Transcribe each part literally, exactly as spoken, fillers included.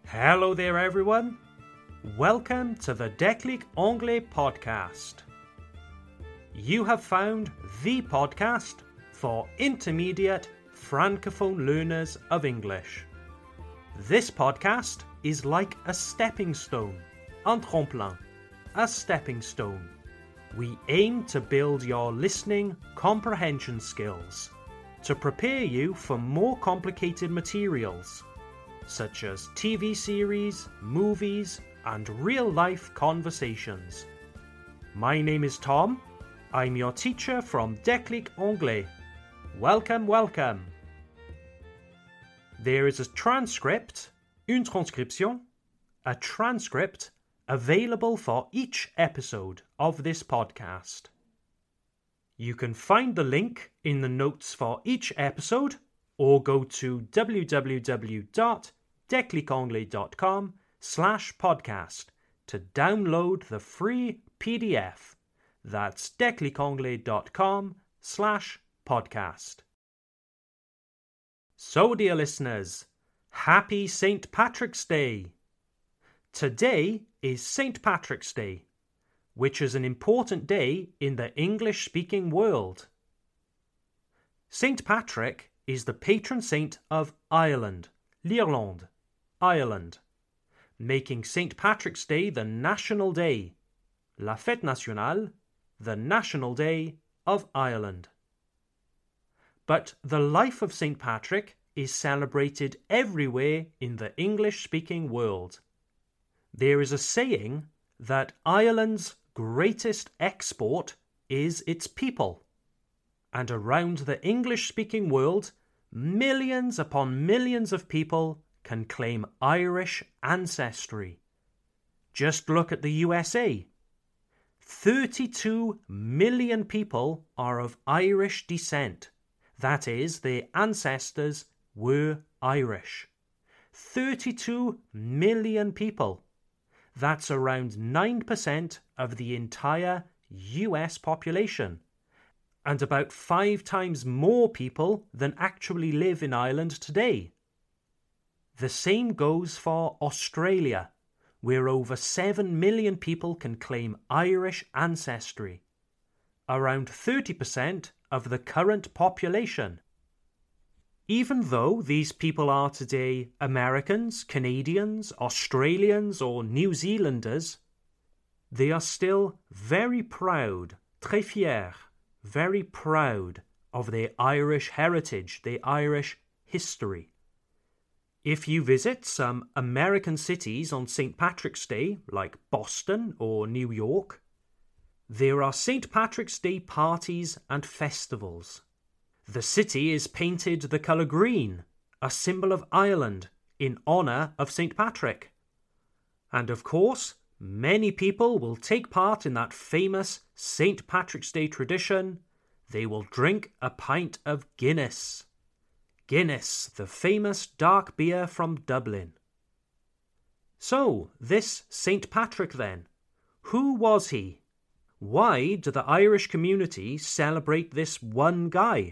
Hello there everyone, welcome to the Déclic Anglais podcast. You have found the podcast for intermediate francophone learners of English. This podcast is like a stepping stone, un tremplin, a stepping stone. We aim to build your listening comprehension skills, to prepare you for more complicated materials, such as T V series, movies, and real-life conversations. My name is Tom. I'm your teacher from Déclic Anglais. Welcome, welcome. There is a transcript, une transcription, a transcript available for each episode of this podcast. You can find the link in the notes for each episode or go to w w w dot déclic anglais dot com slash podcast to download the free P D F. That's déclic anglais dot com slash podcast. So, dear listeners, happy Saint Patrick's Day! Today is Saint Patrick's Day, which is an important day in the English-speaking world. Saint Patrick is the patron saint of Ireland, l'Irlande, Ireland, making Saint Patrick's Day the national day, la fête nationale, the national day of Ireland. But the life of Saint Patrick is celebrated everywhere in the English-speaking world. There is a saying that Ireland's greatest export is its people, and around the English-speaking world, millions upon millions of people can claim Irish ancestry. Just look at the U S A. thirty-two million people are of Irish descent. That is, their ancestors were Irish. thirty-two million people. That's around nine percent of the entire U S population, and about five times more people than actually live in Ireland today. The same goes for Australia, where over seven million people can claim Irish ancestry, around thirty percent of the current population. Even though these people are today Americans, Canadians, Australians, or New Zealanders, they are still very proud, très fiers, very proud of their Irish heritage, their Irish history. If you visit some American cities on Saint Patrick's Day, like Boston or New York, there are Saint Patrick's Day parties and festivals. The city is painted the colour green, a symbol of Ireland, in honour of Saint Patrick. And of course, many people will take part in that famous Saint Patrick's Day tradition. They will drink a pint of Guinness. Guinness, the famous dark beer from Dublin. So, this Saint Patrick then, who was he? Why do the Irish community celebrate this one guy?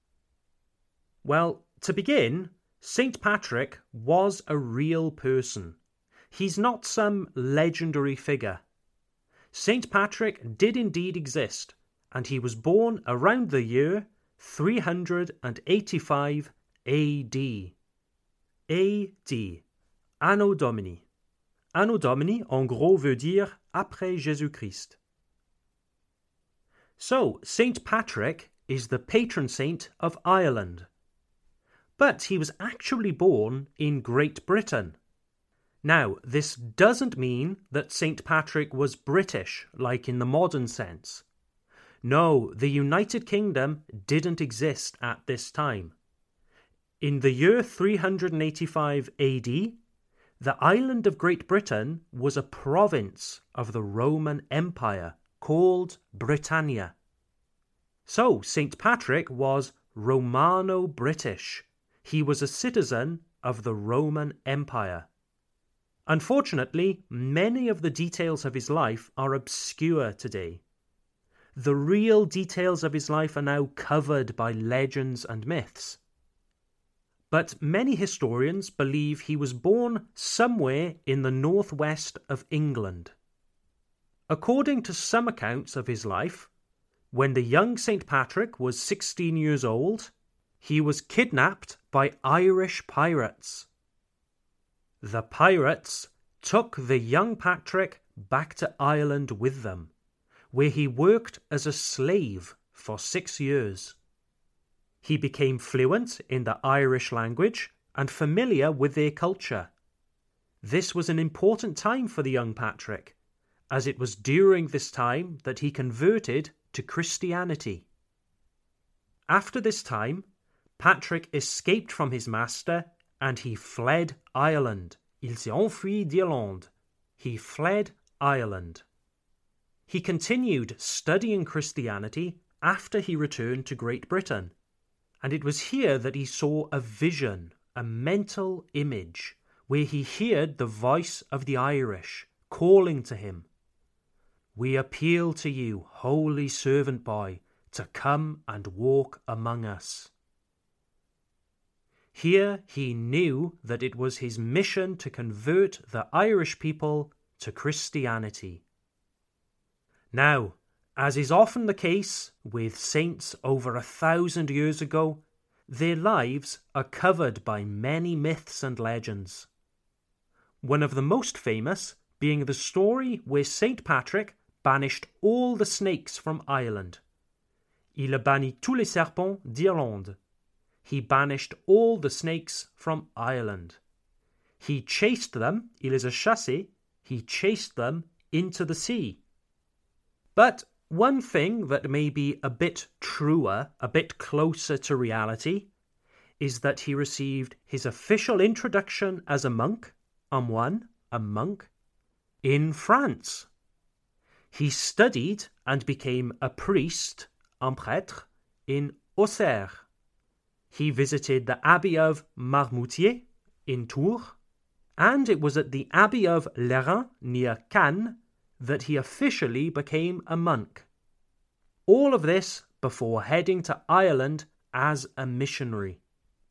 Well, to begin, Saint Patrick was a real person. He's not some legendary figure. Saint Patrick did indeed exist, and he was born around the year three hundred eighty-five A D. A D. Anno Domini. Anno Domini, en gros, veut dire après Jésus-Christ. So, Saint Patrick is the patron saint of Ireland. But he was actually born in Great Britain. Now, this doesn't mean that Saint Patrick was British, like in the modern sense. No, the United Kingdom didn't exist at this time. In the year three hundred eighty-five A D, the island of Great Britain was a province of the Roman Empire called Britannia. So, Saint Patrick was Romano-British. He was a citizen of the Roman Empire. Unfortunately, many of the details of his life are obscure today. The real details of his life are now covered by legends and myths. but many historians believe he was born somewhere in the northwest of England. According to some accounts of his life, when the young Saint Patrick was sixteen years old, he was kidnapped by Irish pirates. The pirates took the young Patrick back to Ireland with them, where he worked as a slave for six years. He became fluent in the Irish language and familiar with their culture. This was an important time for the young Patrick, as it was during this time that he converted to Christianity. After this time, Patrick escaped from his master and he fled Ireland. Il s'est enfui d'Irlande. He fled Ireland. He continued studying Christianity after he returned to Great Britain, and it was here that he saw a vision, a mental image, where he heard the voice of the Irish calling to him. We appeal to you, holy servant boy, to come and walk among us. Here he knew that it was his mission to convert the Irish people to Christianity. Now, as is often the case with saints over a thousand years ago, their lives are covered by many myths and legends. One of the most famous being the story where Saint Patrick banished all the snakes from Ireland. Il a banni tous les serpents d'Irlande. He banished all the snakes from Ireland. He chased them, il les a chassés, he chased them into the sea. But one thing that may be a bit truer, a bit closer to reality, is that he received his official introduction as a monk, un moine, a monk, in France. He studied and became a priest, un prêtre, in Auxerre. He visited the Abbey of Marmoutier in Tours, and it was at the Abbey of Lerins near Cannes that he officially became a monk. All of this before heading to Ireland as a missionary.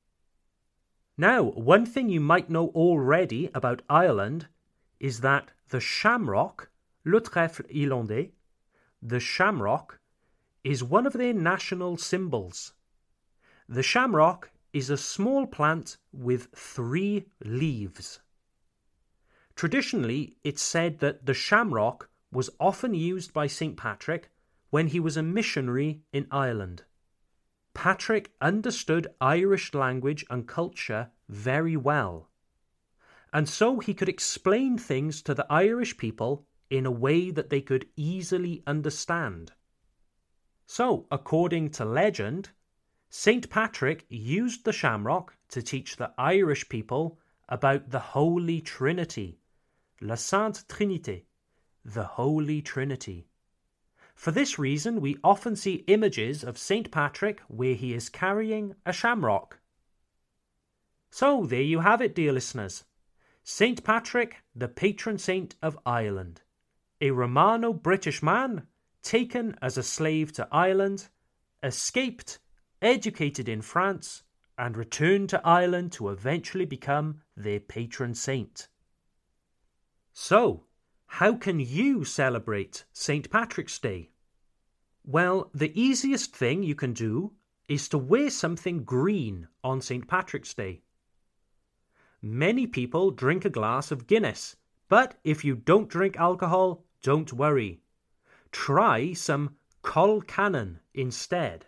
Now, one thing you might know already about Ireland is that the shamrock, le trèfle irlandais, the shamrock, is one of their national symbols. The shamrock is a small plant with three leaves. Traditionally, it's said that the shamrock was often used by Saint Patrick when he was a missionary in Ireland. Patrick understood Irish language and culture very well, and so he could explain things to the Irish people in a way that they could easily understand. So, according to legend, Saint Patrick used the shamrock to teach the Irish people about the Holy Trinity, la Sainte Trinité, the Holy Trinity. For this reason, we often see images of Saint Patrick where he is carrying a shamrock. So, there you have it, dear listeners. Saint Patrick, the patron saint of Ireland, a Romano-British man taken as a slave to Ireland, escaped, educated in France, and returned to Ireland to eventually become their patron saint. So, how can you celebrate Saint Patrick's Day? Well, the easiest thing you can do is to wear something green on Saint Patrick's Day. Many people drink a glass of Guinness, but if you don't drink alcohol, don't worry. Try some colcannon instead.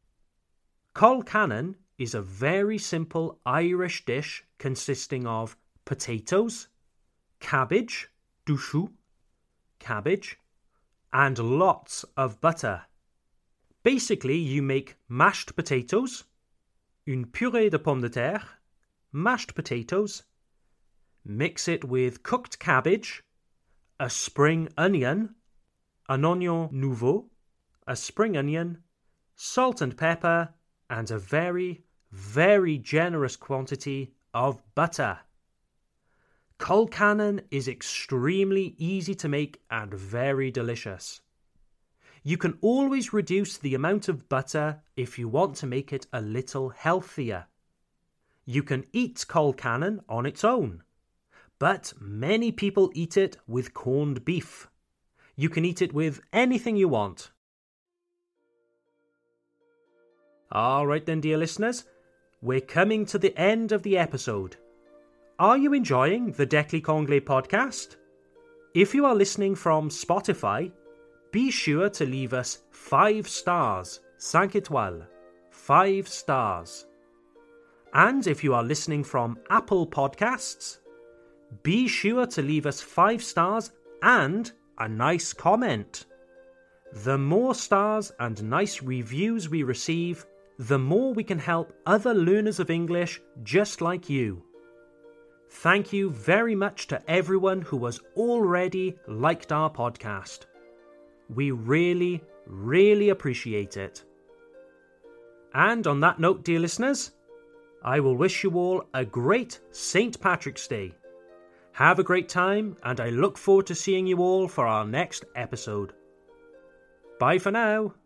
Colcannon is a very simple Irish dish consisting of potatoes, cabbage, douchou, cabbage, and lots of butter. Basically, you make mashed potatoes, une purée de pommes de terre, mashed potatoes, mix it with cooked cabbage, a spring onion, an oignon nouveau, a spring onion, salt and pepper, and a very, very generous quantity of butter. Colcannon is extremely easy to make and very delicious. You can always reduce the amount of butter if you want to make it a little healthier. You can eat colcannon on its own, but many people eat it with corned beef. You can eat it with anything you want. All right then, dear listeners, we're coming to the end of the episode. Are you enjoying the Declic Anglais podcast? If you are listening from Spotify, be sure to leave us five stars, cinq étoiles, five stars. And if you are listening from Apple Podcasts, be sure to leave us five stars and a nice comment. The more stars and nice reviews we receive, the more we can help other learners of English just like you. Thank you very much to everyone who has already liked our podcast. We really, really appreciate it. And on that note, dear listeners, I will wish you all a great Saint Patrick's Day. Have a great time, and I look forward to seeing you all for our next episode. Bye for now.